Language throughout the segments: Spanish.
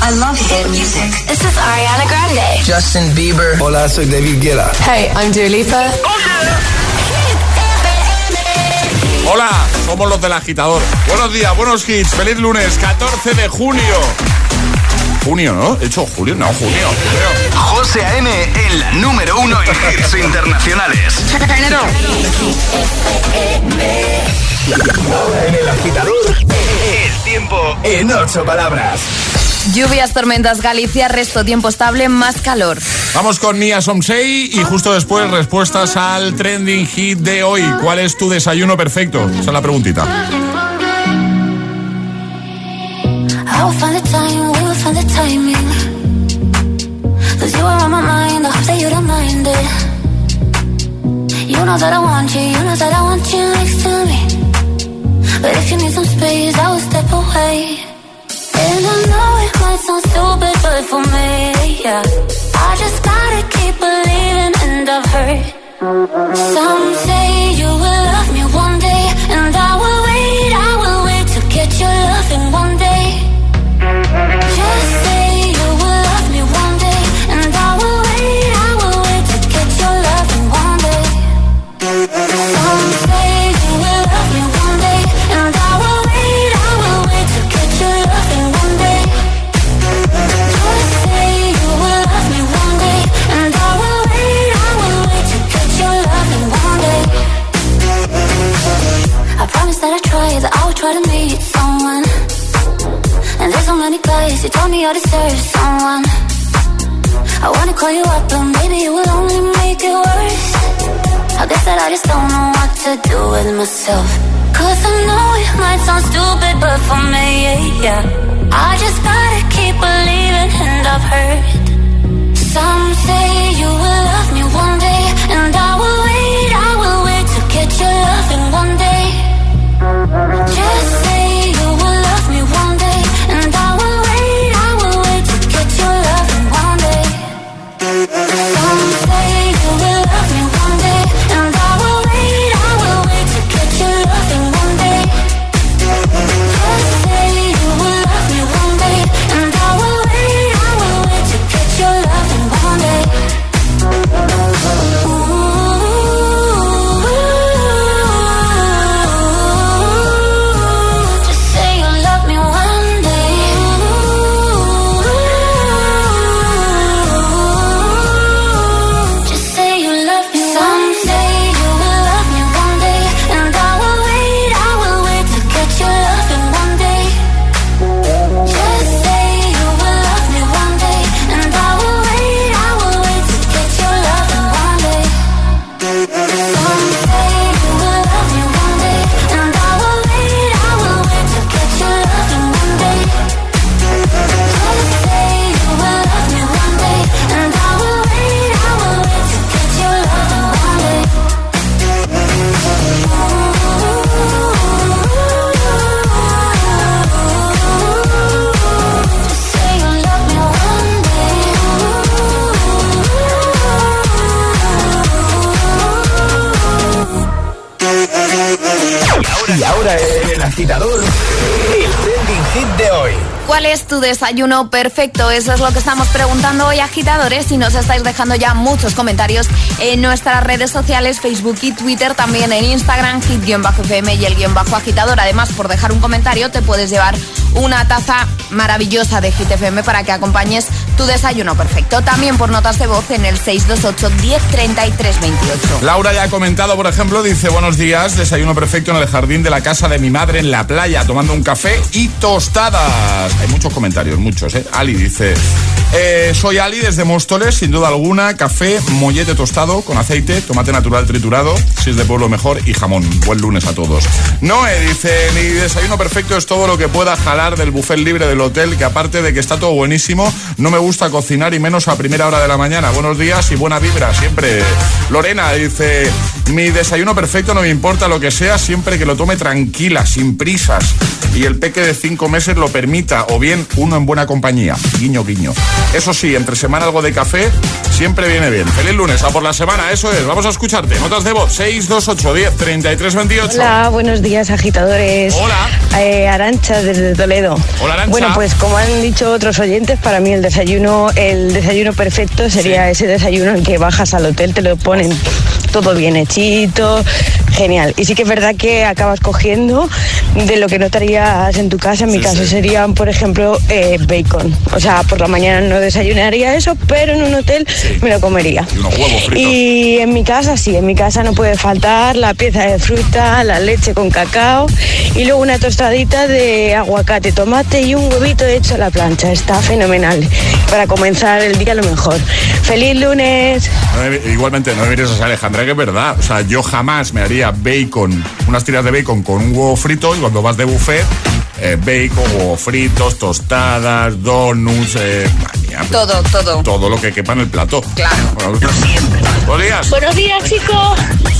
I love hit music. This is Ariana Grande. Justin Bieber. Hola, soy David Guetta. Hey, I'm Dua Lipa. Hola, somos los del Agitador. Buenos días, buenos hits. Feliz lunes, 14 de junio. Junio, ¿no? ¿He dicho julio? No, junio. José A.M. en la número 1 en hits internacionales. Ahora en el Agitador, El tiempo en 8 palabras. Lluvias, tormentas, Galicia, resto tiempo estable, más calor. Vamos con Nia Somsei y justo después respuestas al trending hit de hoy. ¿Cuál es tu desayuno perfecto? Esa es la preguntita. I will find the time, we will find the timing. 'Cause you are on my mind, I hope that you don't mind it. You know that I want you, you know that I want you next to me. But if you need some space, I will step away. And I know it might sound stupid, but for me, yeah, I just gotta keep believing, and I've heard some say you will love me one day, and I will wait to get your love in one day. Just say you will love me one day, and I will wait to get your love in one day. Some say you will love me one day, and I will wait to get your love in one day. Just say you will love me one day, and I will wait to get your love in one day. I promise that I will try to meet someone. And there's so many guys, you told me I deserve someone. I wanna call you up, but maybe it will only make it worse. I guess that I just don't know what to do with myself. 'Cause I know it might sound stupid, but for me, yeah, I just gotta keep believing, and I've heard some say you will love me one day, and I will wait to get your love in one day. Just say you will love me one day, and I will wait to get your love in one day. Some say you will love me one day, and I will wait to get your love in one day. Just say you will love me one day, and I will wait to get your love in one day. Y ahora el agitador, el trending hit de hoy. ¿Cuál es tu desayuno perfecto? Eso es lo que estamos preguntando hoy, agitadores, y nos estáis dejando ya muchos comentarios en nuestras redes sociales, Facebook y Twitter, también en Instagram, hit-fm y el _agitador. Además, por dejar un comentario te puedes llevar una taza maravillosa de Hit FM para que acompañes tu desayuno perfecto. También por notas de voz en el 628 10 33 28. Laura ya ha comentado, por ejemplo, dice: buenos días, desayuno perfecto en el jardín de la casa de mi madre en la playa, tomando un café y tostadas. Hay muchos comentarios, muchos, ¿eh? Ali dice: soy Ali desde Móstoles, sin duda alguna, café, mollete tostado con aceite, tomate natural triturado, si es de pueblo mejor, y jamón. Buen lunes a todos. Noé dice: mi desayuno perfecto es todo lo que pueda jalar del buffet libre del hotel, que aparte de que está todo buenísimo, no me gusta gusta cocinar y menos a primera hora de la mañana. Buenos días y buena vibra siempre. Lorena dice, mi desayuno perfecto no me importa lo que sea, siempre que lo tome tranquila, sin prisas y el peque de 5 meses lo permita, o bien uno en buena compañía. Guiño, guiño. Eso sí, entre semana algo de café siempre viene bien. Feliz lunes, a por la semana, eso es. Vamos a escucharte. Notas de voz, 628 10 33 28. Hola, buenos días, agitadores. Hola. Arancha desde Toledo. Hola, Arancha. Bueno, pues como han dicho otros oyentes, para mí el desayuno perfecto sería ese desayuno en que bajas al hotel, te lo ponen todo bien hechito, genial. Y sí que es verdad que acabas cogiendo de lo que no te harías en tu casa. En mi caso serían, por ejemplo, bacon. O sea, por la mañana no desayunaría eso, pero en un hotel me lo comería. Y unos huevos fritos. Y en mi casa sí, en mi casa no puede faltar la pieza de fruta, la leche con cacao y luego una tostadita de aguacate, tomate y un huevito hecho a la plancha. Está fenomenal. Para comenzar el día lo mejor. ¡Feliz lunes! Igualmente, no me mires así, Alejandra, que es verdad. O sea, yo jamás me haría bacon, unas tiras de bacon con un huevo frito, y cuando vas de buffet, bacon, huevos fritos, tostadas, donuts, todo lo que quepa en el plato. Claro. Bueno, buenos días. Buenos días, chicos.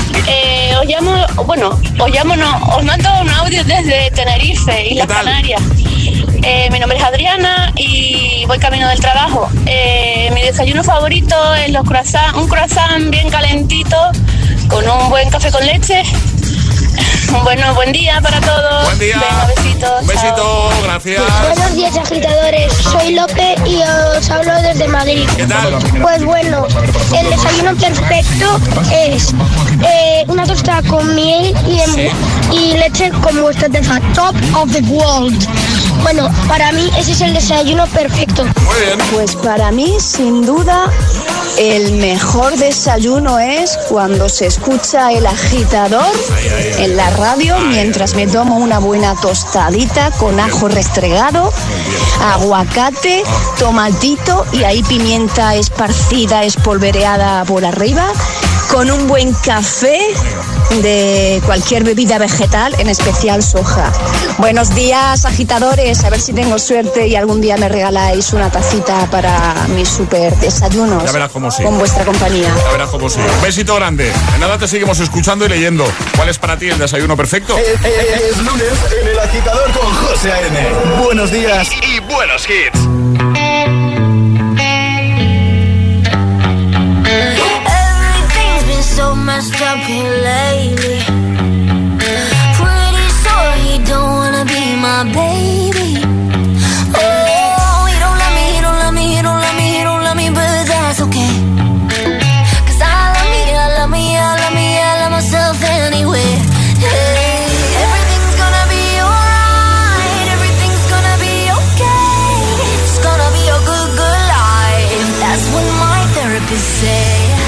Os mando un audio desde Tenerife, Islas Canarias. Mi nombre es Adriana y voy camino del trabajo. Mi desayuno favorito es los croissants, un croissant bien calentito con un buen café con leche. Bueno, buen día para todos. Buen día. Venga, besitos. Un besito, gracias. Buenos días, agitadores. Soy Lope y os hablo desde Madrid. ¿Qué tal? Pues bueno, el desayuno perfecto es una tostada con miel y leche con vuestra tefa. Top of the world. Bueno, para mí ese es el desayuno perfecto. Muy bien. Pues para mí, sin duda, el mejor desayuno es cuando se escucha el agitador en la radio mientras me tomo una buena tostadita con ajo restregado, aguacate, tomatito y ahí pimienta esparcida, espolvoreada por arriba, con un buen café de cualquier bebida vegetal, en especial soja. Buenos días, agitadores. A ver si tengo suerte y algún día me regaláis una tacita para mis super desayunos. Ya verás cómo sí. Con vuestra compañía. Ya verás cómo sí. Un besito grande. En nada te seguimos escuchando y leyendo. ¿Cuál es para ti el desayuno perfecto? Es lunes en El Agitador con José A.M. Buenos días y buenos hits. So messed up here lately. Pretty sure he don't wanna be my baby. Oh, he don't love me, he don't love me, he don't love me, he don't love me, but that's okay. 'Cause I love me, I love me, I love me, I love myself anyway. Hey, everything's gonna be alright, everything's gonna be okay. It's gonna be a good, good life. That's what my therapist said.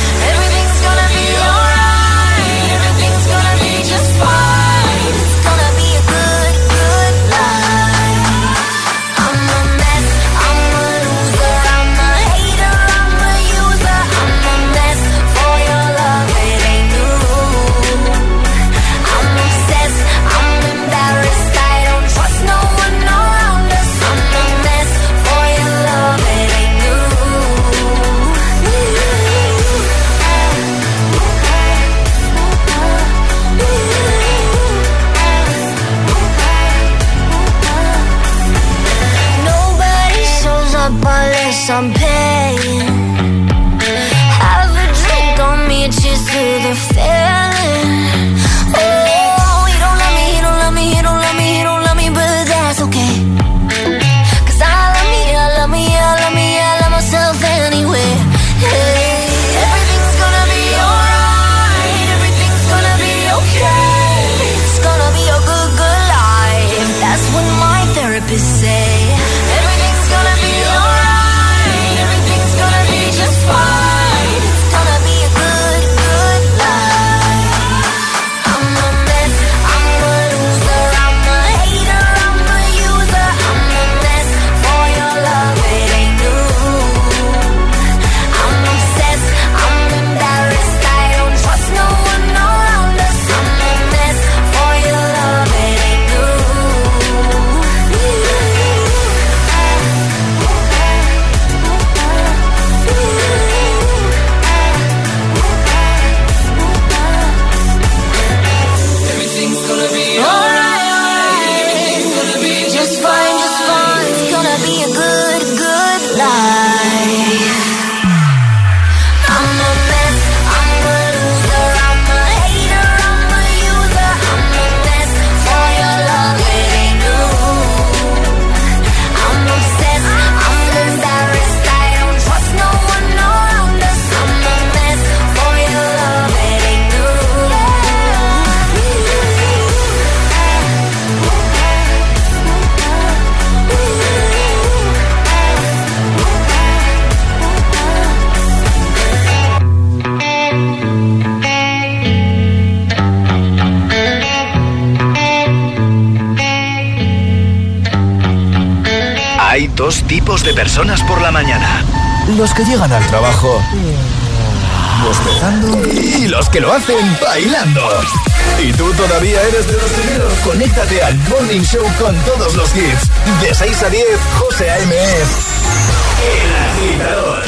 I'm paying. Have a drink on me, cheers to the feeling. Oh, he don't love me, he don't love me, he don't love me, he don't love me, but that's okay. 'Cause I love me, I love me, I love me, I love myself anyway. Hey, everything's gonna be alright, everything's gonna be okay. It's gonna be a good, good life. That's what my therapist say. Everything's gonna be alright. Everything's gonna be good life. I'm a mess, I'm a loser, I'm a hater, I'm a user, I'm a mess for your love, it ain't new. I'm obsessed, I'm embarrassed, I don't trust no one around us. I'm a mess for your love, it ain't new. Hay dos tipos de personas por la mañana. Los que llegan al trabajo bostezando y los que lo hacen bailando. Y tú todavía eres de los primeros. Conéctate al Morning Show con todos los hits. De 6 a 10, José A.M. es El Agitador.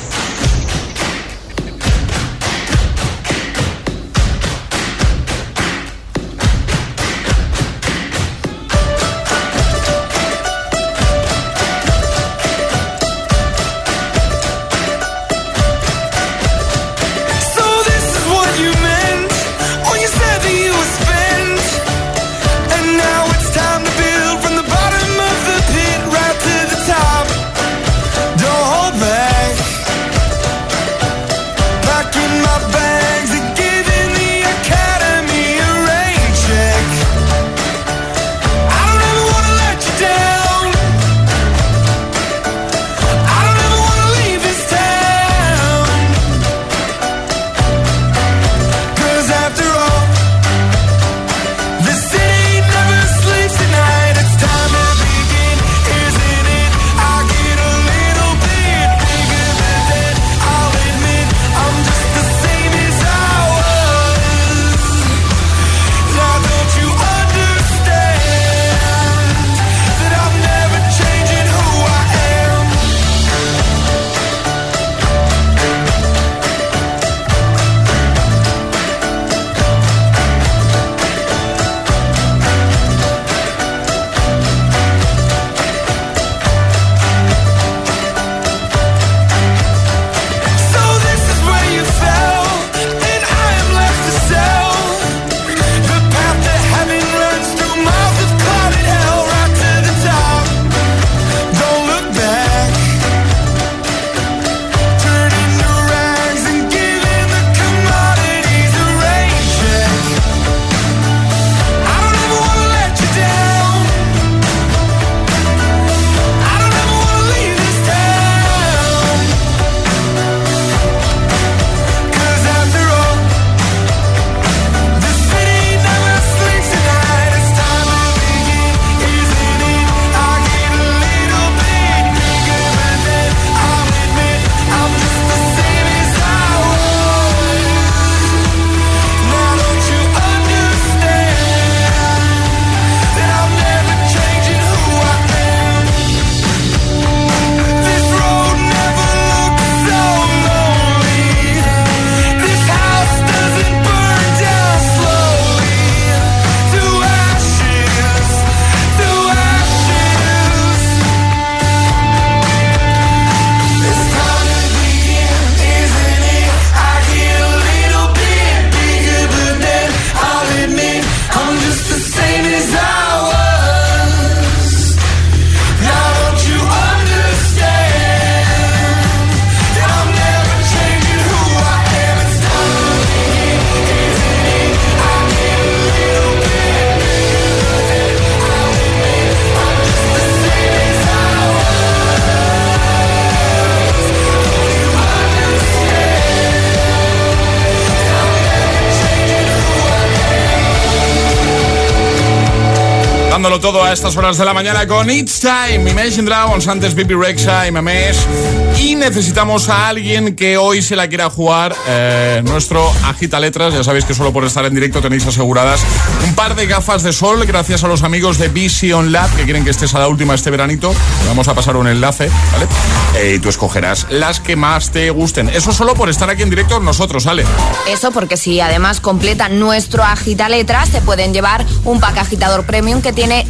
Dándolo todo a estas horas de la mañana con It's Time, Imagine Dragons, antes Bibi Rexha y Mamesh. Y necesitamos a alguien que hoy se la quiera jugar, nuestro agita letras. Ya sabéis que solo por estar en directo tenéis aseguradas un par de gafas de sol gracias a los amigos de Vision Lab, que quieren que estés a la última este veranito. Vamos a pasar un enlace, ¿vale? Y tú escogerás las que más te gusten. Eso solo por estar aquí en directo con nosotros, ¿vale? Eso porque si además completan nuestro agita letras, se pueden llevar un pack agitador premium que tiene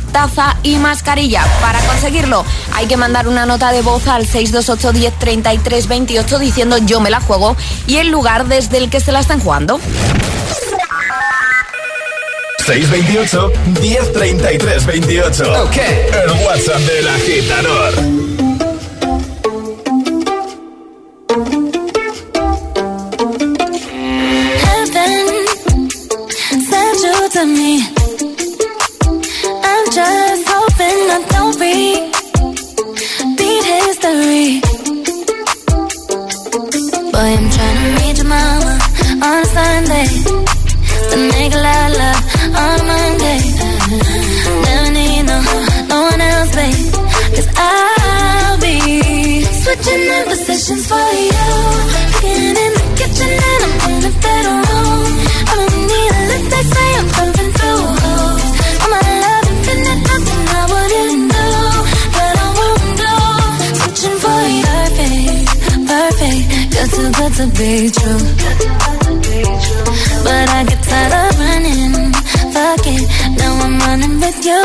taza y mascarilla. Para conseguirlo hay que mandar una nota de voz al 628 10 33 28 diciendo yo me la juego y el lugar desde el que se la están jugando. 628 10 33 28. Ok. El WhatsApp del agitador. Heaven sent you to me. I'm just hoping I don't beat history. Boy, I'm trying to meet your mama on a Sunday. To make a lot of love on a Monday. Never need no one else, babe. 'Cause I'll be switching in positions for you. Getting in the kitchen and I'm in the bedroom. I don't need a lift, they say I'm pumping through holes. All my love infinite, nothing I wouldn't do, but I won't do. Switching for you, perfect, you're too good to be true. But I get tired of running, fuck it, now I'm running with you.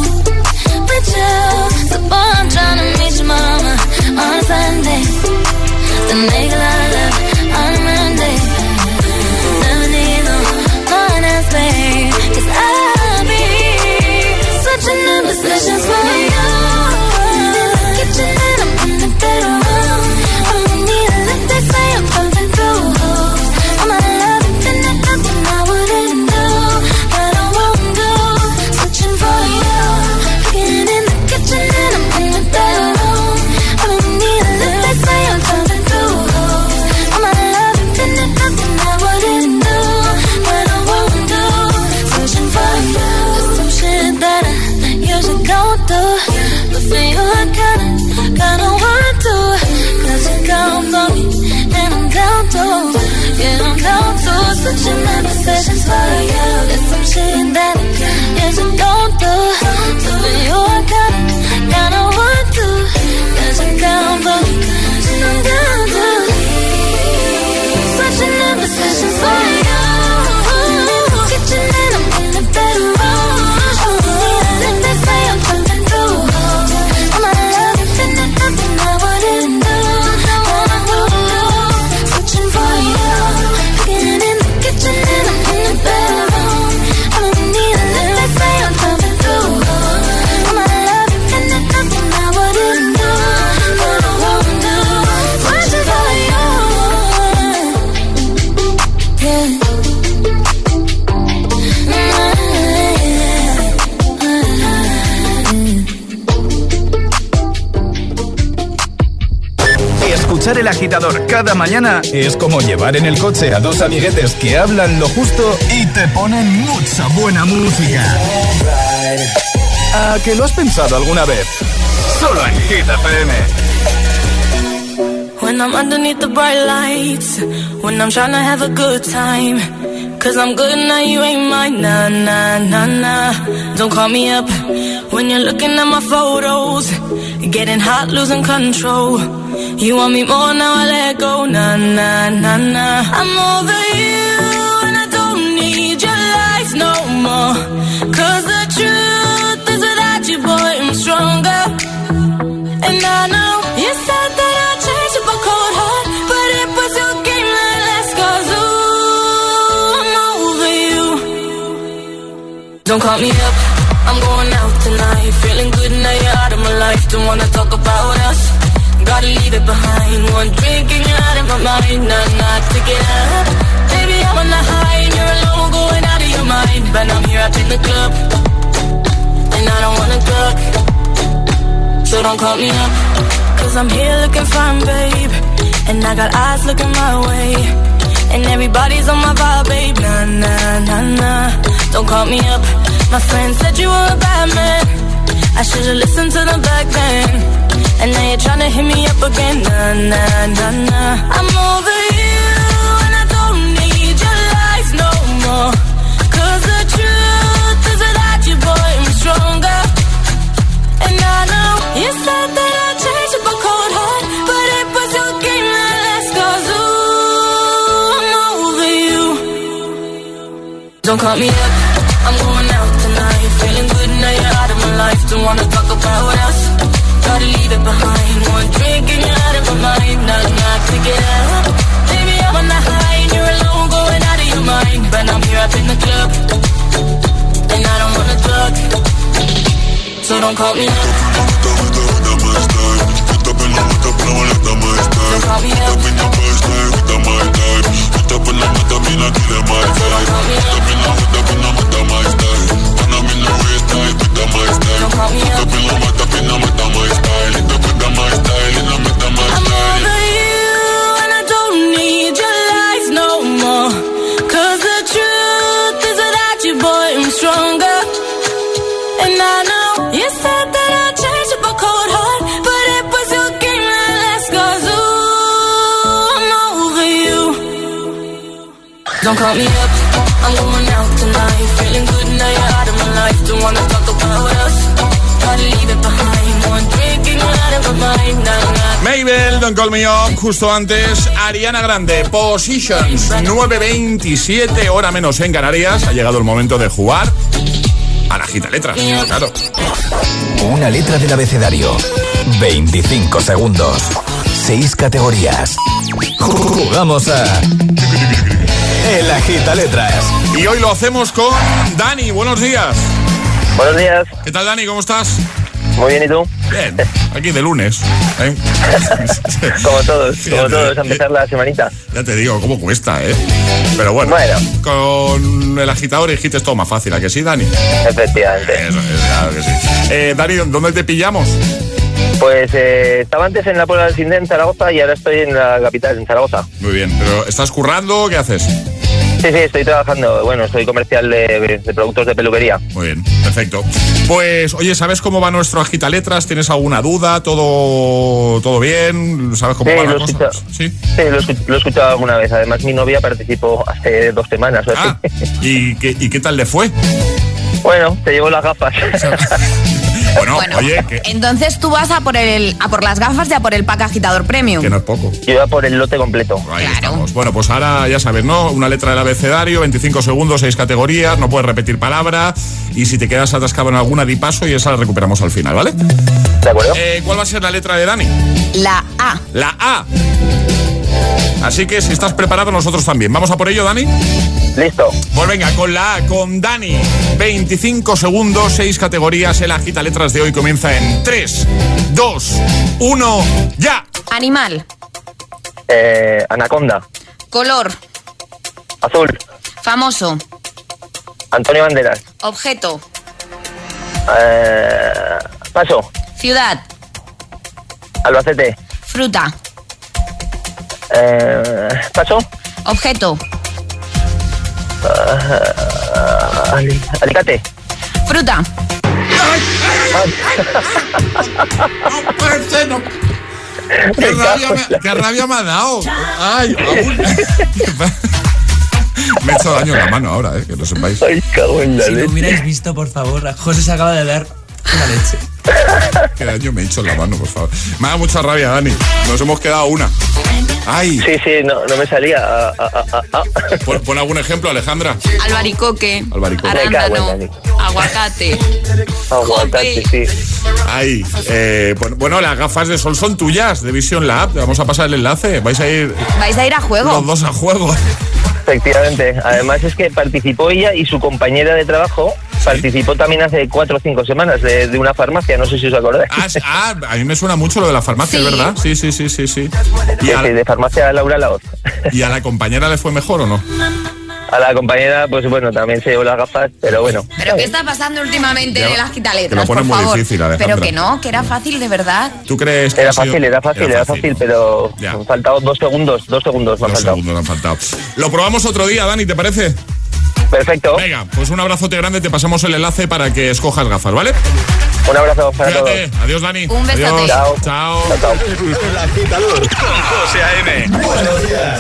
So boy, I'm tryna meet your mama on a Sunday. To make a lot of love on a Monday. Never need no one else, babe. 'Cause I'll be switching in positions for you. In the kitchen and I'm in the bedroom. I don't need a lift, they say I'm pumping through holes. All my love infinite, nothing I wouldn't do, but I won't do. Switching for you. Getting in the kitchen and I'm in the bedroom. I don't need a lift, they say I'm pumping through holes. All my love infinite, nothing I wouldn't do, but I won't do. Switching for you. There's some shit that I usually don't do, but for you I kinda want to. 'Cause you count on me and I'm down to, yeah, I'm down to. Switching my positions for you. There's some shit that I usually don't do, but for you I kinda want to. 'Cause you count on me and I'm down to. Switching my positions for you. In the kitchen and I'm in the bedroom. If they say I'm pumping through holes, all my love infinite, nothing I wouldn't do, but I won't do. Switching for you. Getting in the kitchen and I'm in the bedroom. I don't need a lift, they say I'm pumping through holes. All my love infinite, nothing I wouldn't do, but I won't do. Switching for you. Yeah. Escuchar El Agitador cada mañana es como llevar en el coche a dos amiguetes que hablan lo justo y te ponen mucha buena música. ¿A que lo has pensado alguna vez? Solo en Hit FM. When I'm underneath the bright lights, when I'm trying to have a good time, 'cause I'm good now, you ain't mine, nah, nah, nah, nah. Don't call me up when you're looking at my photos, getting hot, losing control. You want me more, now I let go, nah, nah, nah, nah. I'm over you and I don't need your lies no more, 'cause the truth is without you, boy, I'm stronger. And I know you said that I'd change up a cold heart, but it was your game that last, 'cause ooh, I'm over you. Don't call me up, I'm going out tonight, feeling good now you're out of my life. Don't wanna talk about us, gotta leave it behind. One drink and you're out of my mind, not to get up. Baby, I'm on the high and you're alone, going out of your mind. But I'm here up in the club, and I don't wanna talk, so don't call me up, 'cause I'm here looking fine, babe, and I got eyes looking my way, and everybody's on my vibe, babe, nah, nah, nah, nah. Don't call me up, my friend said you were a bad man, I should've listened to them back then, and now you're tryna hit me up again, nah, nah, nah, nah. I'm over you and I don't need your lies no more, 'cause the truth is without you, boy, I'm stronger. And I know you said that I'd change up a cold heart, but it was your game that last, 'cause ooh, I'm over you. Don't call me up, I'm going out tonight, feeling good now you're out of my don't wanna talk about us. Gotta leave it behind. One drink and you're out of my mind. Not to get up. Baby, I'm on the high and you're alone, going out of your mind. But I'm here up in the club, and I don't wanna talk. So don't call me up. Don't call me up, I'm going out tonight. Feeling good now you're out of my life. Don't wanna talk about us. Gotta leave it behind. One drink and you're out of my mind. Mabel, Don't Call Me Up. Justo antes, Ariana Grande, Positions. 9:27, hora menos en Canarias. Ha llegado el momento de jugar a la Agita Letras, claro. Una letra del abecedario. 25 segundos. 6 categorías. Jugamos a El Agita Letras. Y hoy lo hacemos con Dani. Buenos días. Buenos días. ¿Qué tal, Dani? ¿Cómo estás? Muy bien, ¿y tú? Bien, aquí de lunes, ¿eh? Como todos, a empezar la semanita. Ya te digo, cómo cuesta, ¿eh? Pero bueno, con el agitador y hit es todo más fácil, ¿a que sí, Dani? Efectivamente. Eso es, claro que sí. Dani, ¿dónde te pillamos? Pues estaba antes en la Puebla del Sinde, en Zaragoza, y ahora estoy en la capital, en Zaragoza. Muy bien, pero ¿estás currando o qué haces? Sí, estoy trabajando. Bueno, soy comercial de productos de peluquería. Muy bien, perfecto. Pues, oye, ¿sabes cómo va nuestro Agita Letras? ¿Tienes alguna duda? ¿Todo bien? ¿Sabes cómo va la cosa? Sí, lo he escuchado alguna vez. Además, mi novia participó hace 2 semanas o así. ¿Y qué tal le fue? Bueno, te llevo las gafas. Bueno, oye, entonces tú vas a por las gafas y a por el pack agitador premium. Que no es poco. Yo iba por el lote completo. Ahí estamos. Bueno, pues ahora ya sabes, ¿no? Una letra del abecedario, 25 segundos, 6 categorías, no puedes repetir palabra. Y si te quedas atascado en alguna, di paso y esa la recuperamos al final, ¿vale? De acuerdo. ¿Cuál va a ser la letra de Dani? La A. La A. Así que si estás preparado, nosotros también. ¿Vamos a por ello, Dani? Listo. Pues venga, con la A, con Dani. 25 segundos, 6 categorías. El Agita Letras de hoy comienza en 3, 2, 1, ¡ya! Animal. Anaconda. Color. Azul. Famoso. Antonio Banderas. Objeto. Paso. Ciudad. Albacete. Fruta. Paso. Objeto. Alicate. Fruta. No puede ser, no. Qué rabia me ha dado. Ay, aún. Me he hecho daño en la mano ahora, que lo sepáis. Ay, cago en la leche. Si lo hubierais visto, por favor, a José se acaba de dar una leche. Qué daño me he hecho en la mano, por favor. Me da mucha rabia, Dani. Nos hemos quedado una. ¡Ay! Sí, no me salía. Pon algún ejemplo, Alejandra. Albaricoque. Arándano. Aguacate. Aguacate, sí. Ay, bueno, las gafas de sol son tuyas, de Vision Lab. Vamos a pasar el enlace. Vais a ir a juego. Los dos a juego. Efectivamente. Además es que participó ella y su compañera de trabajo. ¿Sí? Participó también hace 4 o 5 semanas de una farmacia, no sé si os acordáis. A mí me suena mucho lo de la farmacia, ¿sí? ¿Verdad? Sí. Sí, de farmacia Laura Laoz. ¿Y a la compañera le fue mejor o no? A la compañera, pues bueno, también se llevó las gafas, pero bueno. ¿Pero qué está pasando últimamente en las Agita Letras? Que lo pone muy difícil, Alejandra. Pero que era fácil, de verdad. ¿Tú crees que era fácil, pero me han faltado 2 segundos. 2 segundos me han faltado. 2 segundos me han faltado. Lo probamos otro día, Dani, ¿te parece? Perfecto. Venga, pues un abrazote grande, te pasamos el enlace para que escojas gafas, ¿vale? Un abrazo para todos. Adiós, Dani. Un besote. Adiós. Chao. El Agitador con José A.M. Buenos días.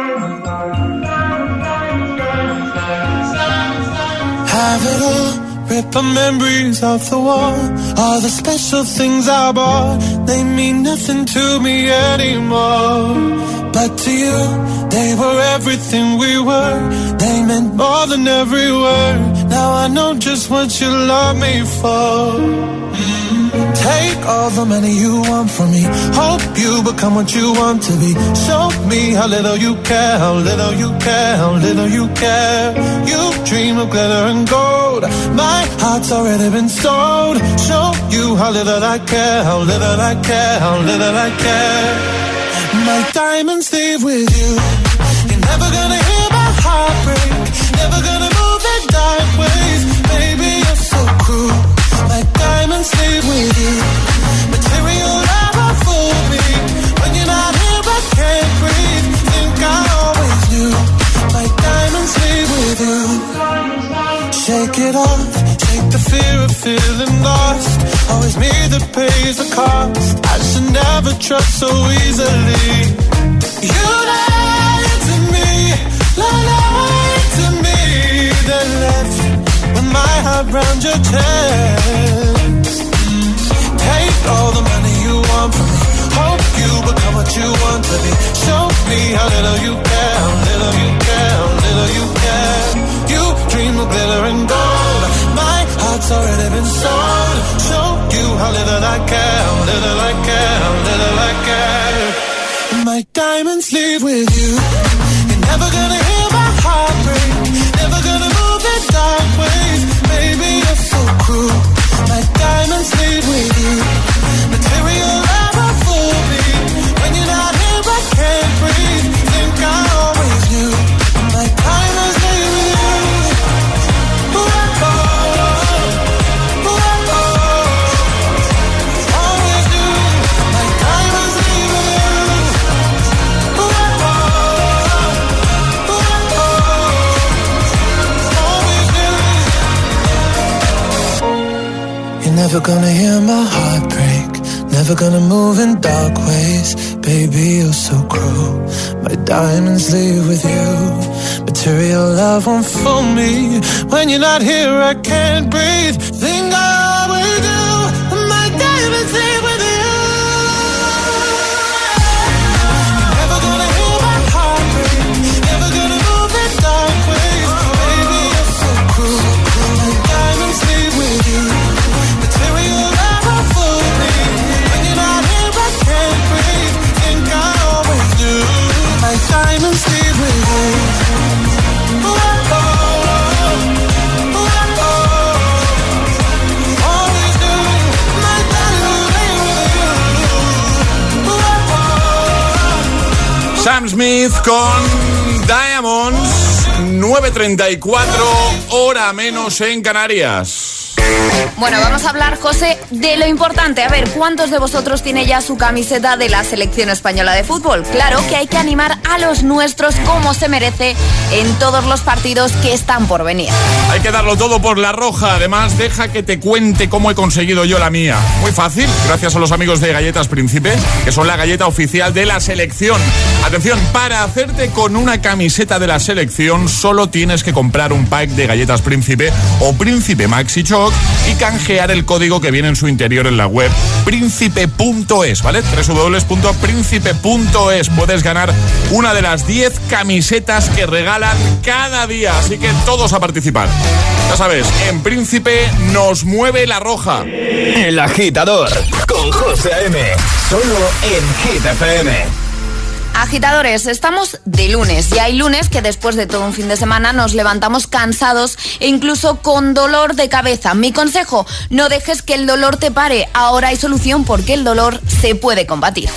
Have it all wallpaper memories of the war. All the special things I bought, they mean nothing to me anymore. But to you, they were everything we were. They meant more than every word. Now I know just what you love me for. Take all the money you want from me. Hope you become what you want to be. Show me how little you care, how little you care, how little you care. You dream of glitter and gold. My heart's already been sold. Show you how little I care, how little I care, how little I care. My diamonds leave with you. You're never gonna hear my heart break. Never gonna move in dark ways. Baby, you're so cruel. My diamonds leave with you. Material never fool me. When you're not here, I can't breathe. Think I always knew. My diamonds leave with you. Shake it off. Shake the fear of feeling lost. Always me that pays the cost. I should never trust so easily. You lied to me. Lied to me. Then left with my heart round your chest. Take all the money you want from me. Hope you become what you want to be. Show me how little you care, how little you care, how little you care. You dream of glitter and gold. My heart's already been sold. Show you how little I care, how little I care, how little I care. My diamonds leave with you. You're never gonna hear my heart break. Never gonna move in dark ways. Baby, you're so cruel. My diamonds leave with you. Material never fool me. When you're not here, I can't breathe. Think I always knew. My diamonds leave with you. Ooh, oh, ooh, oh. Always knew. My diamonds leave with you. Ooh, oh, ooh, oh. Always knew. You're never gonna hear my heart break. Never gonna move in dark ways. Baby, you're so cruel. My diamonds leave with you. Material love won't fool me. When you're not here, I can't breathe. Think I always do. My diamonds leave with you. Never gonna hear my heart break. Never gonna move in dark ways. Baby, you're so cruel. My diamonds leave with you. Material never fool me. When you're not here, I can't breathe. Think I always do. My diamonds leave with you. Ooh, oh, ooh, oh. Always do. My diamonds leave with you. Ooh, oh. Sam Smith con Diamonds. 9:34, hora menos en Canarias. Bueno, vamos a hablar, José, de lo importante. A ver, ¿cuántos de vosotros tiene ya su camiseta de la selección española de fútbol? Claro que hay que animar a los nuestros como se merece en todos los partidos que están por venir. Hay que darlo todo por la roja. Además, deja que te cuente cómo he conseguido yo la mía. Muy fácil, gracias a los amigos de Galletas Príncipe, que son la galleta oficial de la selección. Atención, para hacerte con una camiseta de la selección solo tienes que comprar un pack de Galletas Príncipe o Príncipe Maxi Choc y canjear el código que viene en su interior en la web príncipe.es, ¿vale? www.príncipe.es. Puedes ganar una de las 10 camisetas que regalan cada día, así que todos a participar. Ya sabes, en Príncipe nos mueve la roja. El Agitador con José A.M. Solo en Hit FM. Agitadores, estamos de lunes y hay lunes que después de todo un fin de semana nos levantamos cansados e incluso con dolor de cabeza. Mi consejo, no dejes que el dolor te pare. Ahora hay solución porque el dolor se puede combatir.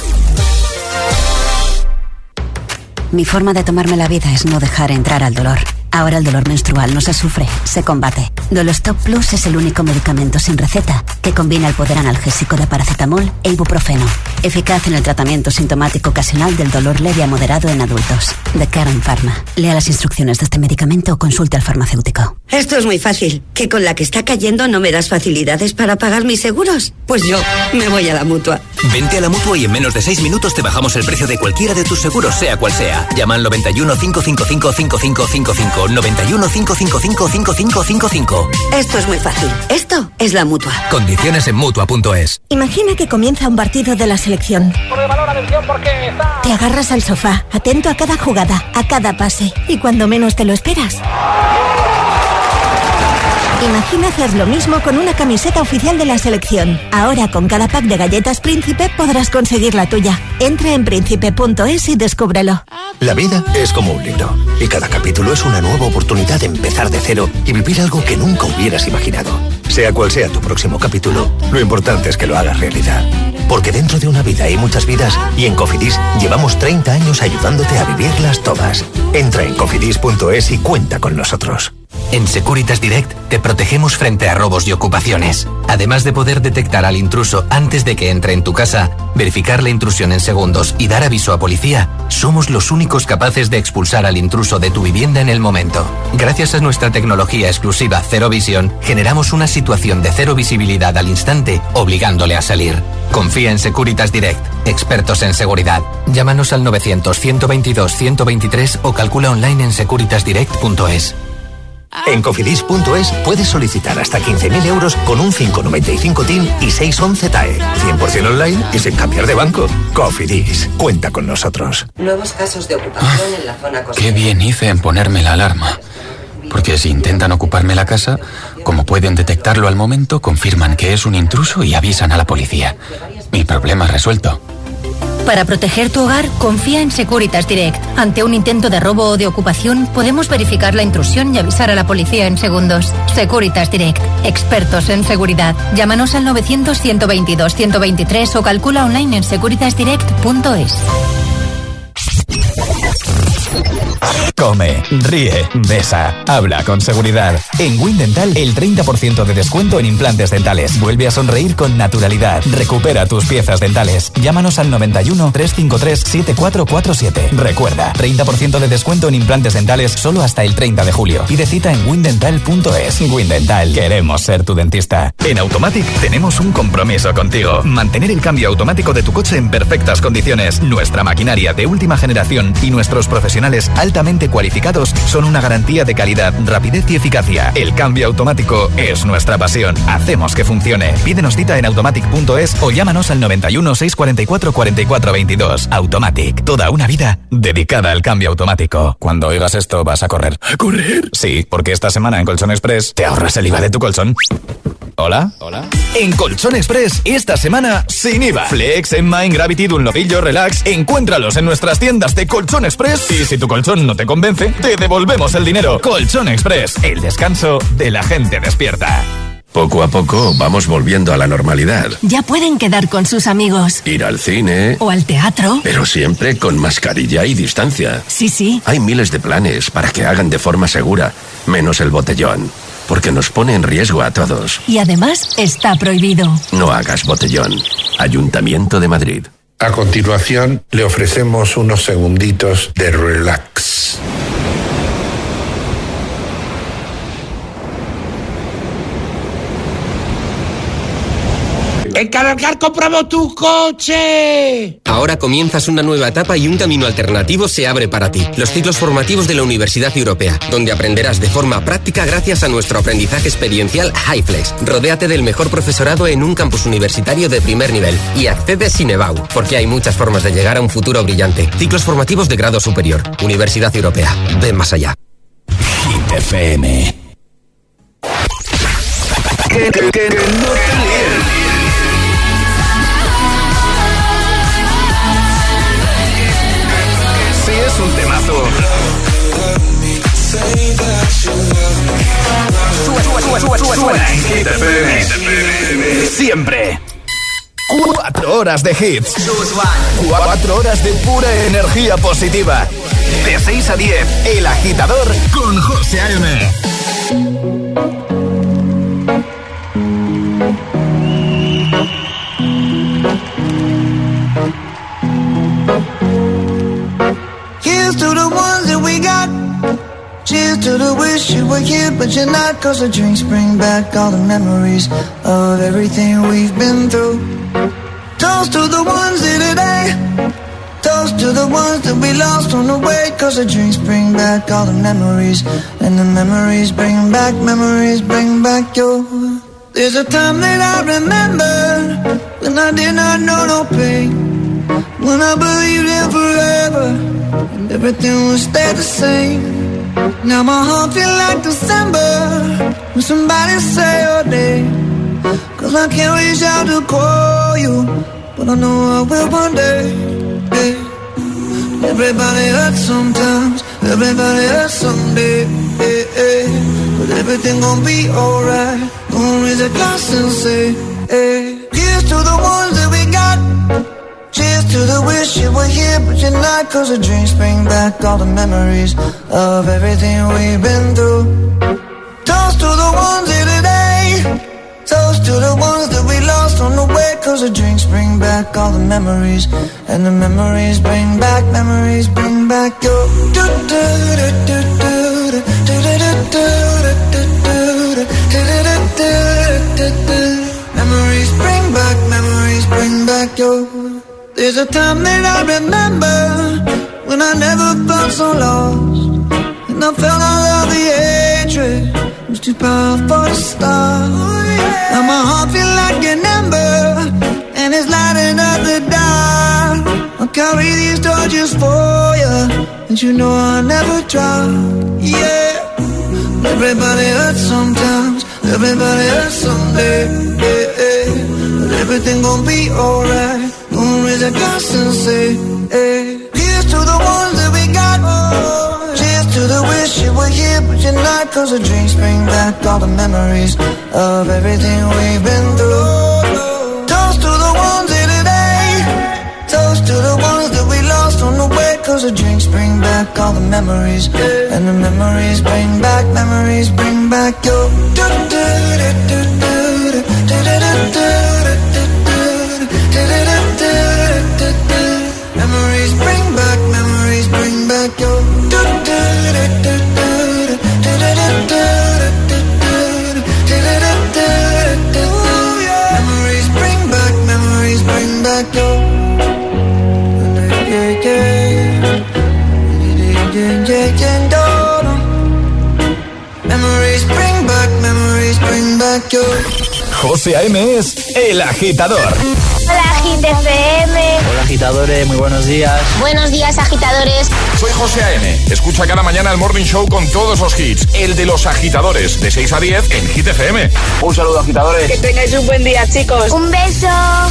Mi forma de tomarme la vida es no dejar entrar al dolor. Ahora el dolor menstrual no se sufre, se combate. Dolostop Plus es el único medicamento sin receta que combina el poder analgésico de paracetamol e ibuprofeno. Eficaz en el tratamiento sintomático ocasional del dolor leve a moderado en adultos. De Karen Pharma. Lea las instrucciones de este medicamento o consulte al farmacéutico. Esto es muy fácil. ¿Que con la que está cayendo no me das facilidades para pagar mis seguros? Pues yo me voy a la Mutua. Vente a la Mutua y en menos de 6 minutos te bajamos el precio de cualquiera de tus seguros, sea cual sea. Llama al 91 555 5555. 555 91 555 5555. Esto es muy fácil. Esto es la Mutua. Condiciones en Mutua.es. Imagina que comienza un partido de la selección. Te agarras al sofá, atento a cada jugada, a cada pase, y cuando menos te lo esperas. Imagina hacer lo mismo con una camiseta oficial de la selección. Ahora con cada pack de galletas Príncipe podrás conseguir la tuya. Entra en príncipe.es y descúbrelo. La vida es como un libro y cada capítulo es una nueva oportunidad de empezar de cero y vivir algo que nunca hubieras imaginado. Sea cual sea tu próximo capítulo, lo importante es que lo hagas realidad. Porque dentro de una vida hay muchas vidas y en Cofidis llevamos 30 años ayudándote a vivirlas todas. Entra en cofidis.es y cuenta con nosotros. En Securitas Direct te protegemos frente a robos y ocupaciones. Además de poder detectar al intruso antes de que entre en tu casa, verificar la intrusión en segundos y dar aviso a policía, somos los únicos capaces de expulsar al intruso de tu vivienda en el momento. Gracias a nuestra tecnología exclusiva Cero Visión, generamos una situación de cero visibilidad al instante, obligándole a salir. Confía en Securitas Direct, expertos en seguridad. Llámanos al 900-122-123 o calcula online en securitasdirect.es. En cofidis.es puedes solicitar hasta 15.000 euros con un 595 TIN y 611 TAE. 100% online y sin cambiar de banco. Cofidis, cuenta con nosotros. Nuevos casos de ocupación en la zona costera. Qué bien hice en ponerme la alarma. Porque si intentan ocuparme la casa, como pueden detectarlo al momento, confirman que es un intruso y avisan a la policía. Mi problema resuelto. Para proteger tu hogar, confía en Securitas Direct. Ante un intento de robo o de ocupación, podemos verificar la intrusión y avisar a la policía en segundos. Securitas Direct, expertos en seguridad. Llámanos al 900-122-123 o calcula online en securitasdirect.es. Come, ríe, besa, habla con seguridad. En Windental, el 30% de descuento en implantes dentales. Vuelve a sonreír con naturalidad. Recupera tus piezas dentales. Llámanos al 91 353 7447. Recuerda, 30% de descuento en implantes dentales solo hasta el 30 de julio. Pide cita en windental.es. Windental, queremos ser tu dentista. En Automatic tenemos un compromiso contigo. Mantener el cambio automático de tu coche en perfectas condiciones. Nuestra maquinaria de última generación y nuestros profesionales altamente cualificados son una garantía de calidad, rapidez y eficacia. El cambio automático es nuestra pasión. Hacemos que funcione. Pídenos cita en automatic.es o llámanos al 91 644 44 22. Automatic, toda una vida dedicada al cambio automático. Cuando oigas esto vas a correr. ¿A correr? Sí, porque esta semana en Colchón Express te ahorras el IVA de tu colchón. ¿Hola? ¿Hola? En Colchón Express, esta semana, sin IVA. Flex, Enmine, Gravity, Dunlopillo, Relax. Encuéntralos en nuestras tiendas de Colchón Express. Y si tu colchón no te convence, te devolvemos el dinero. Colchón Express, el descanso de la gente despierta. Poco a poco vamos volviendo a la normalidad. Ya pueden quedar con sus amigos. Ir al cine. O al teatro. Pero siempre con mascarilla y distancia. Sí. Hay miles de planes para que hagan de forma segura, menos el botellón. Porque nos pone en riesgo a todos. Y además está prohibido. No hagas botellón. Ayuntamiento de Madrid. A continuación, le ofrecemos unos segunditos de relax. ¡En Cargar compramos tu coche! Ahora comienzas una nueva etapa y un camino alternativo se abre para ti. Los ciclos formativos de la Universidad Europea, donde aprenderás de forma práctica gracias a nuestro aprendizaje experiencial HiFlex. Rodéate del mejor profesorado en un campus universitario de primer nivel y accede sin EBAU, porque hay muchas formas de llegar a un futuro brillante. Ciclos formativos de grado superior. Universidad Europea. Ven más allá. Hit FM. Que no te líen. Es un temazo. Suena en Hit FM. Siempre. 4 horas de hits. 4 horas de pura energía positiva. De 6 a 10, El Agitador con José A.M. Here's to the ones that we got. Cheers to the wish you were here, but you're not. 'Cause the drinks bring back all the memories of everything we've been through. Toast to the ones here today. Toast to the ones that we lost on the way, 'cause the drinks bring back all the memories, and the memories bring back your. There's a time that I remember when I did not know no pain, when I believed in forever and everything would stay the same. Now my heart feels like December when somebody say your name, 'cause I can't reach out to call you, but I know I will one day. Hey. Everybody hurts sometimes, everybody hurts someday. Hey, hey. But everything gon' be alright. Gonna raise a glass and say, hey. Here's to the ones that we got. Cheers to the wish you were here, but you're not, 'cause the drinks bring back all the memories of everything we've been through. Toast to the ones here today. Toast to the ones that we lost on the way, 'cause the drinks bring back all the memories, and the memories bring back your. Memories bring back your. There's a time that I remember when I never felt so lost, and I felt all of the hatred was too powerful to stop. Now my heart feels like an ember, and it's lighting up the dark. I'll carry these torches for you, and you know I'll never drop. Yeah. Everybody hurts sometimes, everybody hurts someday. Yeah, yeah. But everything gon' be alright. Gonna raise a glass and say, hey. Here's to the ones that we got. Cheers to the wish you were here, but you're not, 'cause the drinks bring back all the memories of everything we've been through. Toast to the ones here today. Toast to the ones that we lost on the way, 'cause the drinks bring back all the memories, and the memories bring back your. Memories bring back your. Memories bring back your. Memories bring back your. José A.M. es El Agitador. Hola, Hit FM. Hola, agitadores, muy buenos días. Buenos días, agitadores. Soy José A.M. Escucha cada mañana el Morning Show con todos los hits. El de los agitadores, de 6 a 10 en Hit FM. Un saludo, agitadores. Que tengáis un buen día, chicos. Un beso.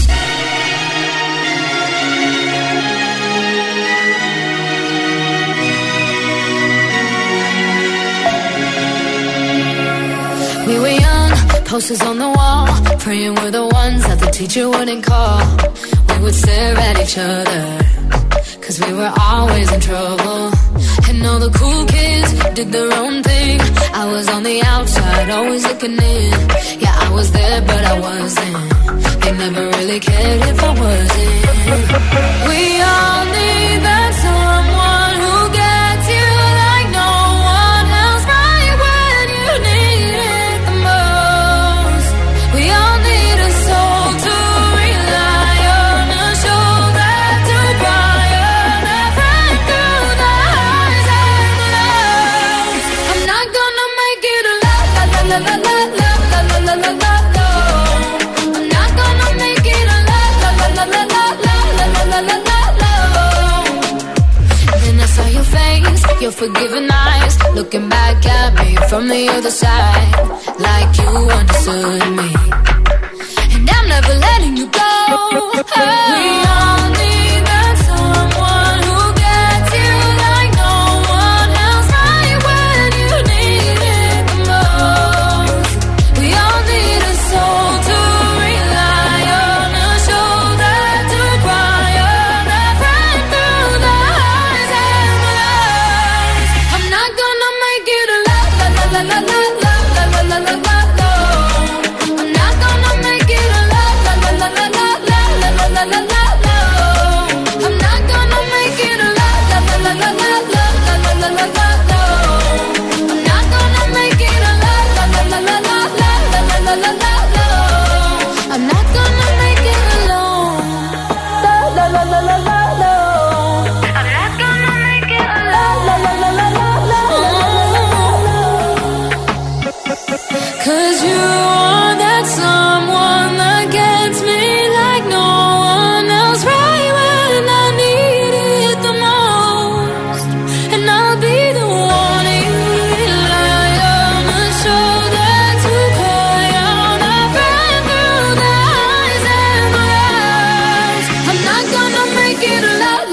We were young, posters on the wall, praying we're the ones that the teacher wouldn't call. We would stare at each other, 'cause we were always in trouble. And all the cool kids did their own thing. I was on the outside, always looking in. Yeah, I was there, but I wasn't. They never really cared if I wasn't. We all need that someone who gets you like no one else, right when you need it the most. We all need a soul to rely on, a shoulder to cry on, a friend through the highs and the lows. I'm not gonna make it a la la la la la la la la la la la. I'm not gonna make it a la la la la la la la la la la la. Then I saw your face, your forgiving eyes, looking back at me from the other side, like you understood me. And I'm never letting you go. We all need that someone who gets you like no one else, right when you need it the most. We all need a soul to rely on, a shoulder to cry on, a friend through the highs and the lows. I'm not gonna make it a la la la la la la la la la la la. I'm not gonna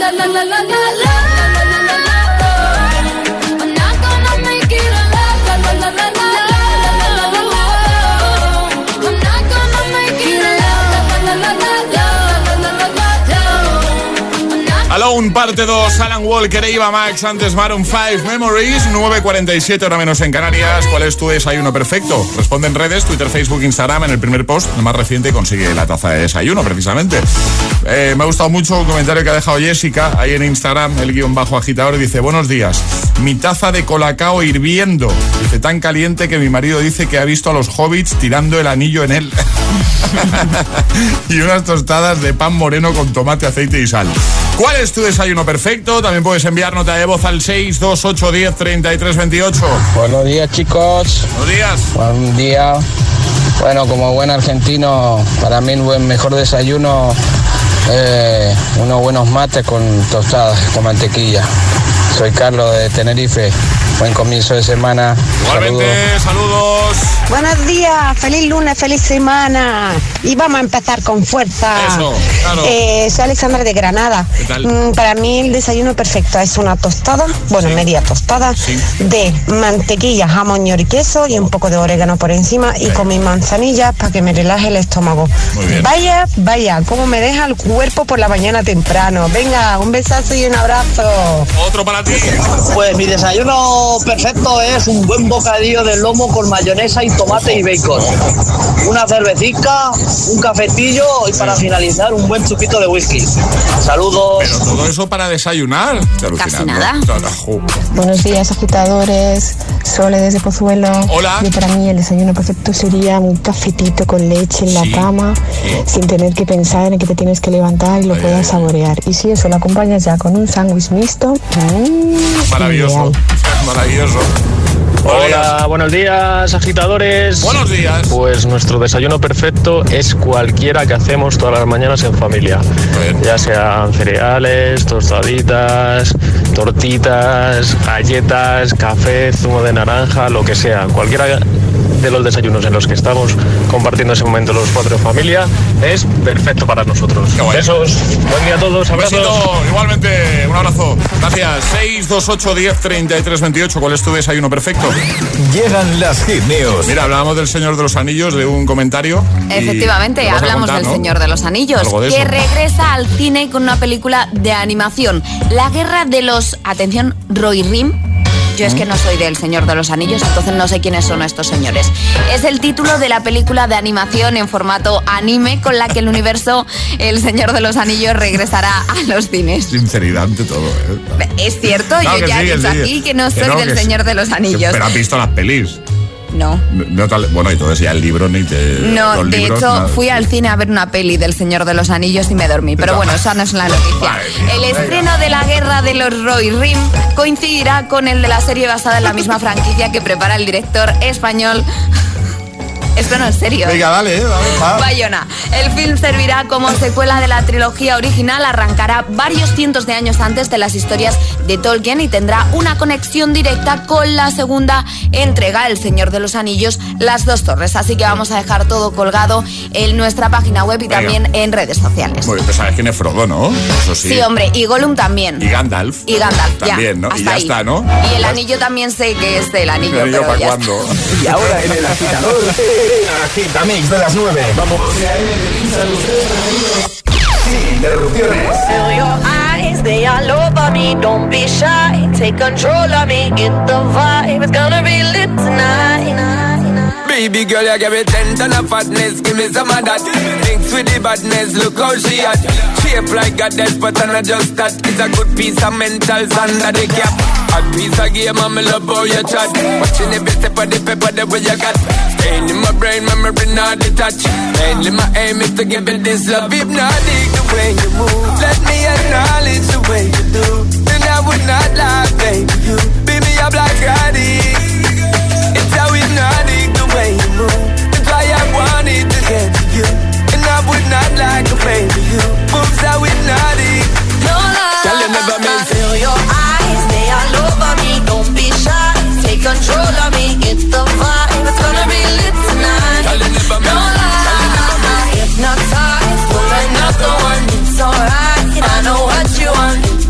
la la la la la la. I'm not gonna make it a la la la la la la. I'm not gonna make it a la la la la la la. Alone, parte 2, Alan Walker, Eva Max, antes Maroon 5, Memories, 9:47 hora menos en Canarias. ¿Cuál es tu desayuno perfecto? Responde en redes, Twitter, Facebook, Instagram, en el primer post, el más reciente, consigue la taza de desayuno, precisamente. Me ha gustado mucho un comentario que ha dejado Jessica, ahí en Instagram, el _agitador, dice: buenos días, mi taza de colacao hirviendo, dice, tan caliente que mi marido dice que ha visto a los hobbits tirando el anillo en él. Y unas tostadas de pan moreno con tomate, aceite y sal. ¿Cuál es tu desayuno perfecto? También puedes enviar nota de voz al 628103328. Buenos días, chicos. Buenos días. Buen día. Bueno, como buen argentino, para mí el mejor desayuno, unos buenos mates con tostadas, con mantequilla. Soy Carlos de Tenerife. Buen comienzo de semana. Igualmente, saludos. Buenos días, feliz lunes, feliz semana. Y vamos a empezar con fuerza. Eso, claro. Soy Alexandra de Granada. ¿Qué tal? Para mí el desayuno perfecto es una tostada, bueno, media tostada, de mantequilla, jamón y queso y un poco de orégano por encima y con mis manzanillas para que me relaje el estómago. Muy bien. Vaya, cómo me deja el cuerpo por la mañana temprano. Venga, un besazo y un abrazo. Otro para ti. Pues mi desayuno perfecto es un buen bocadillo de lomo con mayonesa y tomate y bacon. Una cervecita, un cafetillo y para finalizar un buen chupito de whisky. Saludos. Pero todo eso para desayunar. Casi nada. Buenos días, agitadores. Sole desde Pozuelo. Hola. Y para mí el desayuno perfecto sería un cafetito con leche en la cama, sin tener que pensar en que te tienes que levantar y lo puedas saborear. Y si eso lo acompañas ya con un sándwich mixto, maravilloso. Maravilloso. Hola, buenos días, agitadores. Buenos días. Pues nuestro desayuno perfecto es cualquiera que hacemos todas las mañanas en familia. Ya sean cereales, tostaditas, tortitas, galletas, café, zumo de naranja, lo que sea. Cualquiera de los desayunos en los que estamos compartiendo ese momento los cuatro en familia es perfecto para nosotros. Besos, buen día a todos, abrazos. Besito, igualmente, un abrazo. Gracias. 628103328. ¿Cuál es tu desayuno perfecto? Llegan las Hit News. Mira, hablábamos del Señor de los Anillos, de un comentario. Efectivamente, hablamos del Señor de los Anillos, que regresa al cine con una película de animación. La guerra de los... Atención, Rohirrim. Yo es que no soy del Señor de los Anillos, entonces no sé quiénes son estos señores. Es el título de la película de animación en formato anime con la que el universo El Señor de los Anillos regresará a los cines. Sinceridad ante todo, ¿eh? Es cierto, claro, yo ya he dicho aquí que no soy del Señor de los Anillos. Pero has visto las pelis. No. Bueno, y todo eso ya el libro ni te... No, de hecho fui al cine a ver una peli del Señor de los Anillos y me dormí. Pero bueno, esa no es la noticia. El estreno de la Guerra de los Rohirrim coincidirá con el de la serie basada en la misma franquicia que prepara el director español... Esto no es serio. Venga, dale. Bayona. El film servirá como secuela de la trilogía original, arrancará varios cientos de años antes de las historias de Tolkien y tendrá una conexión directa con la segunda entrega, El Señor de los Anillos, Las Dos Torres. Así que vamos a dejar todo colgado en nuestra página web y también en redes sociales. Muy bien, pues sabes quién es Frodo, ¿no? Eso sí. Sí, hombre, y Gollum también. Y Gandalf. Y Gandalf, también, ¿no? Y ya ahí está, ¿no? Y el anillo también sé que es el anillo, ¿El anillo pero para ya cuándo? está. Y ahora en el agitador, Agitamix de las 9. Vamos. Sin interrupciones. Feel your eyes, they all over me. Don't be shy, take control of me. Get the vibe, it's gonna be lit tonight. Baby girl, you give me 10 ton of fatness, give me some of that. Mix with the badness, look how she at. Shape like a death, but I'm not just that. It's a good piece of mental under the cap. A piece of game, I'm love how you chat. Watching every step of the paper, the way you got. Staying in my brain, memory not detached. Mainly my aim is to give it this love. Hypnotic the way you move. Let me acknowledge the way you do. Then I would not lie, baby, you beat me up like addict. It's how hypnotic the way you move. That's why I wanted to get to you. And I would not like a baby, you moves how hypnotic. No lie, tell you never miss. Feel your eyes, they all over me. Don't be shy, take control of me. Get the vibe, it's gonna be lit tonight. Tell you never miss. No lie, hypnotized, pull another one. It's alright, I know what you want.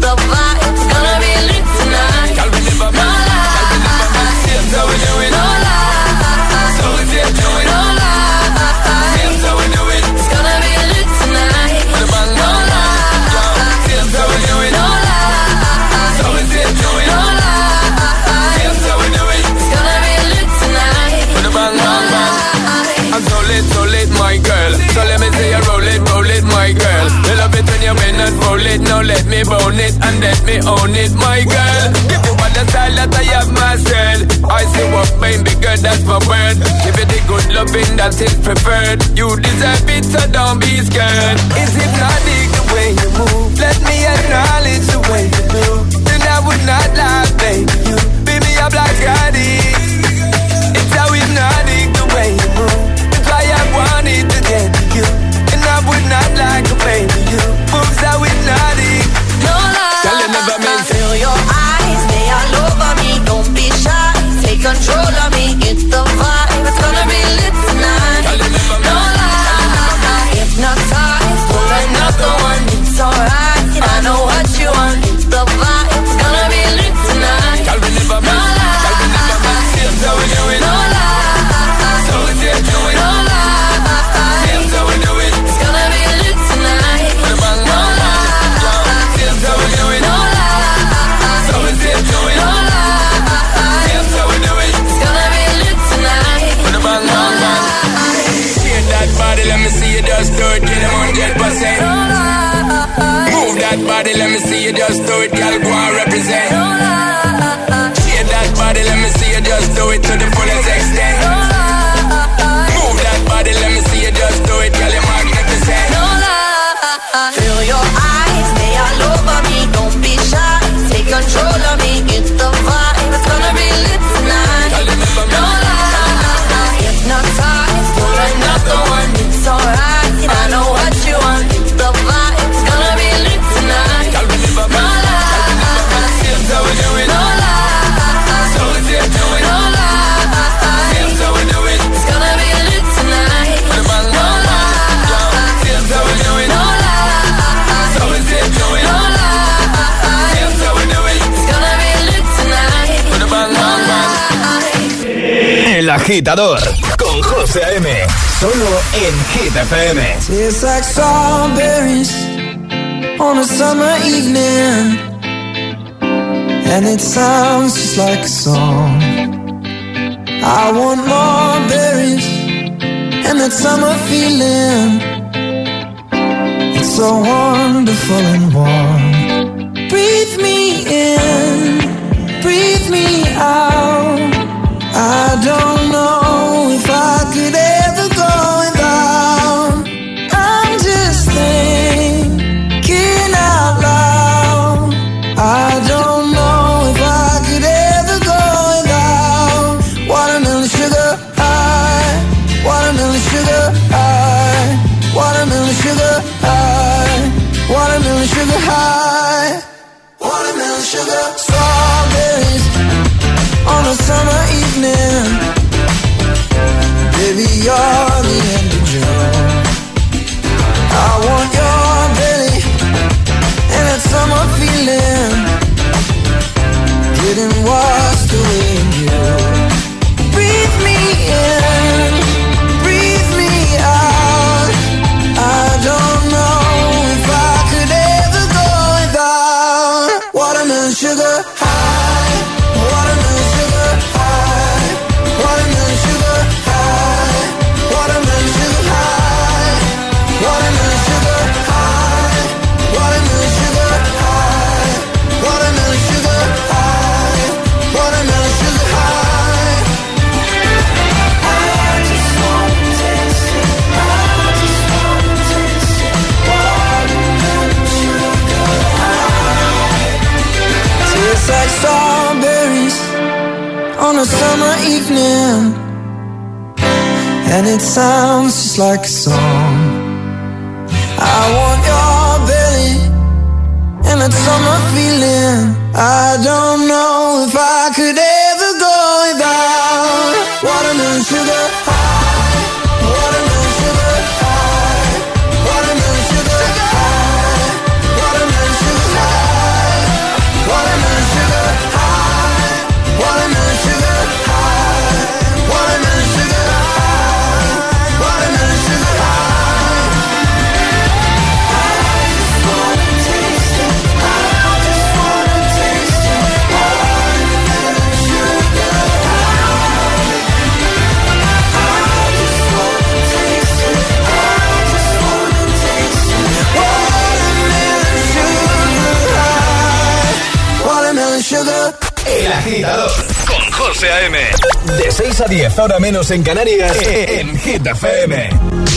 me bone it and let me own it, my girl. Give you all the style that I have myself. I say what, baby girl, that's my word. Give you the good loving that is preferred. You deserve it, so don't be scared. Is hypnotic the way you move? Let me acknowledge the way you do. Then I would not lie, baby. You beat me up like addict. It's how hypnotic the way you move. That's why I wanted to get to you. And I would not like a baby. You moves how hypnotic. No lie, tell you never meant feel your eyes, they all over me. Don't be shy, take control of me. It's the vibe, it's gonna be lit tonight. No lie, hypnotized, pull another one. It's alright, I know what you want. It's the vibe, it's gonna be lit tonight. No lie, so we do it. no lie, So we do it. no lie, So we do it. it's gonna be lit tonight. No lie, So we do it. no lie, So we do it. no lie, So we do it. it's gonna be lit tonight. Put a bang, bang, bang. Shake that body, let me see you just do it. Get 100%. Move that body, let me see you just do it. Girl, go and represent. Shake that body, let me see you just do it to the fullest extent. Move that body, let me see you just do it. Girl, you're magnificent. Feel your eyes, they all over me. Don't be shy, take control of me. It's the vibe, it's gonna be lit tonight. No lie, hypnotized, pull another one. It's alright, I know what you want. It's the vibe, it's gonna be lit tonight. No lie, So we do it. no lie, So we do it. no lie, So we do it. it's gonna be lit tonight. Put a bang, No bang, bang. So we do it. no lie, So we do it. no lie, So we do it. it's gonna be lit tonight. Put a bang, bang, bang. El Agitador con José A.M. Solo en Hit FM. Tastes like strawberries on a summer evening, and it sounds just like a song. I want more berries and that summer feeling. It's so wonderful and warm. Breathe me in, breathe me out. I don't know if I could ever go without. I'm just thinking out loud. I don't know if I could ever go without. Watermelon sugar high, watermelon sugar high, watermelon sugar high, watermelon sugar high, watermelon sugar. Strawberries on a summer evening. Baby, you're the end of June. I want your belly and that summer feeling, getting washed away in you. Breathe me in, breathe me out. I don't know if I could ever go without. Watermelon sugar high, watermelon sugar high, watermelon sugar high, watermelon sugar high, watermelon sugar high, watermelon sugar high, watermelon sugar high, watermelon sugar high. I just want to taste it, I just want to taste it. Watermelon sugar high. Tastes like strawberries on a summer evening, and it sounds just like a song. I want your belly and that summer feeling. I don't know if I could ever go without. Watermelon sugar high, watermelon sugar high, watermelon sugar high, watermelon sugar high, watermelon sugar high, watermelon sugar high, watermelon sugar high, watermelon sugar high. El Agitador con José A.M. De 6 a 10, ahora menos en Canarias, en Hit FM.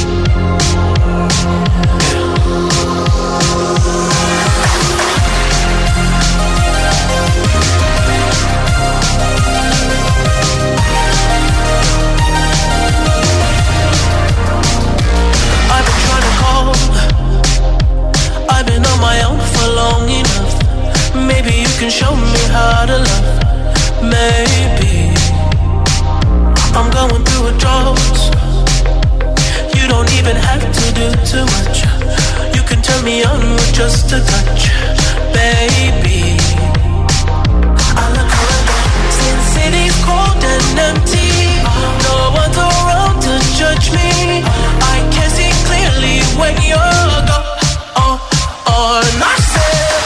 I've been on my own for long enough. Maybe you can show me how to love. Maybe I'm going through a drought. You don't even have to do too much. You can turn me on with just a touch, baby. I look around, since city's cold and empty. No one's around to judge me. I can see clearly when you're gone. And I said,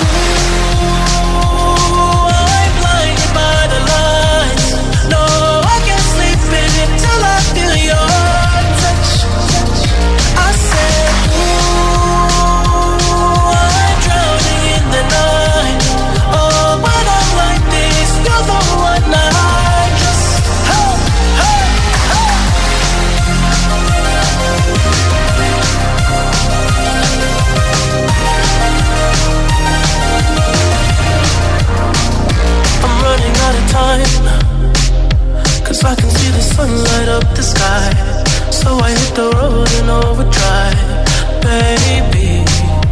ooh, I'm blinded by the lights. No, I can't sleep until I feel your touch. I said, ooh, I'm drowning in the night. Oh, when I'm like this, you're the one I just, hey, hey, hey. Time, 'cause I can see the sun light up the sky. So I hit the road in overdrive, baby.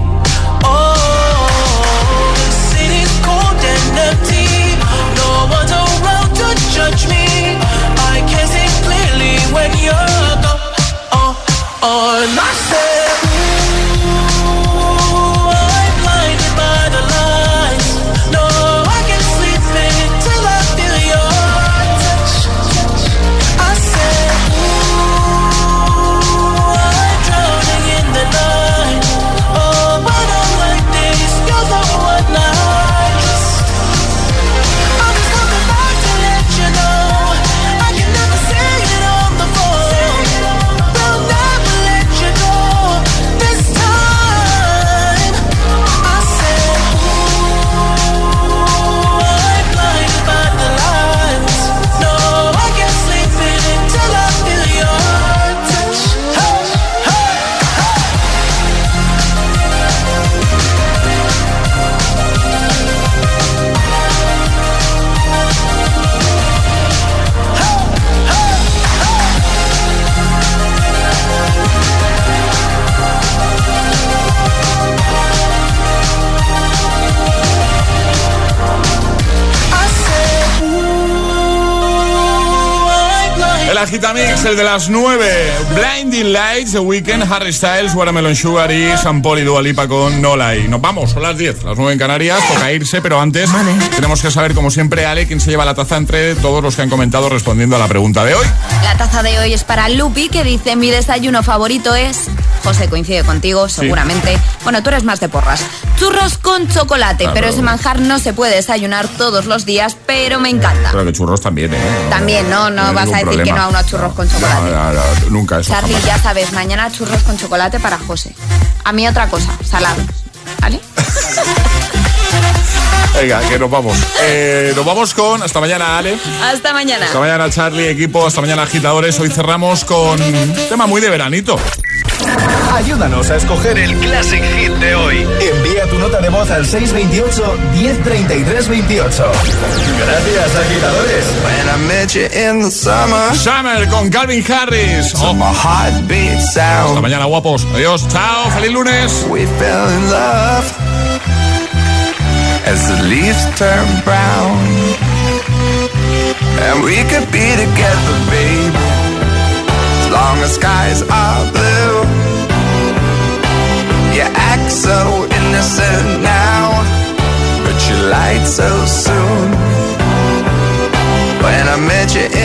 Oh, the city's cold and empty. No one's around to judge me. I can see clearly when you're gone. And I said, ooh, I'm blinded by the lights. No, I can't sleep until I feel your touch. I said, ooh, I'm drowning in the night. Oh, when I'm like this, you're the one I just. I'm just coming back to let you know. I can never say it on the phone. They'll never let you go this time. I said, ooh, I'm blinded by the lights. No, I can't sleep until I feel your touch. Hey, hey, El Agitamix, el de las 9. Blinding Lights, The Weeknd, Harry Styles, Watermelon Sugar y Sean Paul y Dua Lipa con No Lie. Nos vamos, son las 10, las 9 en Canarias. Toca irse, pero antes tenemos que saber, como siempre, Ale, quién se lleva la taza entre todos los que han comentado respondiendo a la pregunta de hoy. La taza de hoy es para Lupi, que dice: mi desayuno favorito es... José coincide contigo, seguramente. Sí. Bueno, tú eres más de porras. Churros con chocolate, pero ese manjar no se puede desayunar todos los días, pero me encanta. Pero que churros también, ¿eh? También, no vas a decir problema. Que no a unos churros con chocolate. No, nunca eso. Charlie, jamás. Ya sabes, mañana churros con chocolate para José. A mí otra cosa, salado. ¿Vale? Venga, que nos vamos. Nos vamos con... Hasta mañana, Ale. Hasta mañana. Hasta mañana, Charlie, equipo. Hasta mañana, agitadores. Hoy cerramos con un tema muy de veranito. Ayúdanos a escoger el Classic Hit de hoy. Envía tu nota de voz al 628 1033 28. Gracias, agitadores. When I met you in the summer. Summer con Calvin Harris. My heartbeat sound. Hasta mañana, guapos. Adiós. Chao. Feliz lunes. We fell in love as the leaves turn brown. And we could be together, baby, as long as skies are blue. You act so innocent now, but you lied so soon. When I met you